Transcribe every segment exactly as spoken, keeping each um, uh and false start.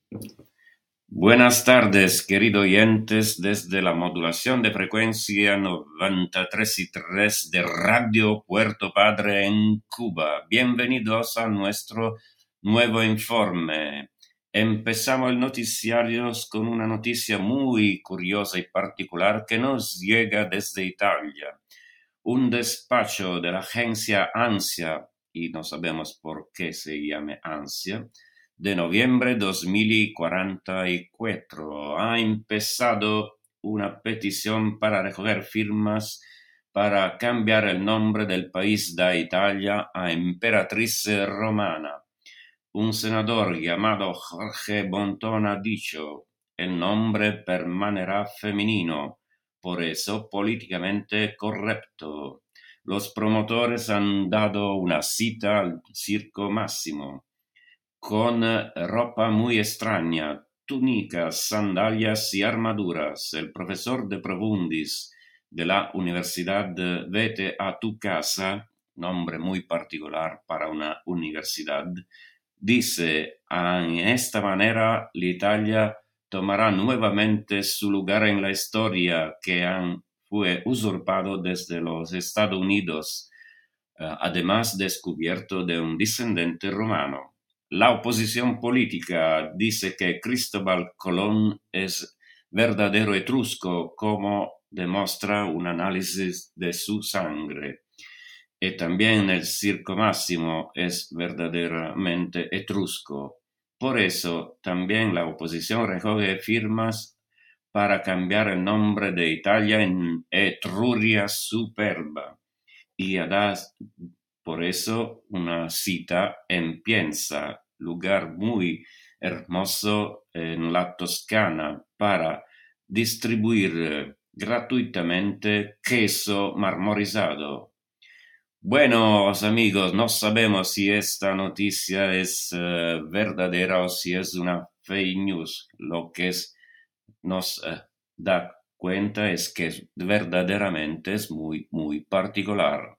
Buenas tardes, queridos oyentes, desde la modulación de frecuencia noventa y tres y tres de Radio Puerto Padre en Cuba. Bienvenidos a nuestro nuevo informe. Empezamos el noticiario con una noticia muy curiosa y particular que nos llega desde Italia. Un despacho de la agencia ANSIA, y no sabemos por qué se llame ANSIA, de noviembre dos mil cuarenta y cuatro ha empezado una petición para recoger firmas para cambiar el nombre del país de Italia a Emperatriz Romana. Un senador llamado Jorge Bonton ha dicho: el nombre permanecerá femenino, por eso políticamente correcto. Los promotores han dado una cita al Circo Massimo con ropa muy extraña, túnicas, sandalias y armaduras. El profesor de Profundis de la Universidad Vete a tu casa, nombre muy particular para una universidad, dice: en esta manera l'Italia tomará nuevamente su lugar en la historia que han, fue usurpado desde los Estados Unidos, eh, además descubierto de un descendiente romano. La oposición política dice que Cristóbal Colón es verdadero etrusco, como demuestra un análisis de su sangre. Y también el Circo Máximo es verdaderamente etrusco. Por eso también la oposición recoge firmas para cambiar el nombre de Italia en Etruria Superba. Y da por eso una cita en Pienza, lugar muy hermoso en la Toscana, para distribuir eh, gratuitamente queso marmorizado. Bueno, amigos, no sabemos si esta noticia es uh, verdadera o si es una fake news. Lo que es, nos uh, da cuenta es que verdaderamente es muy, muy particular.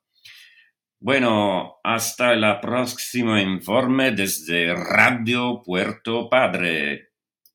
Bueno, hasta el próximo informe desde Radio Puerto Padre.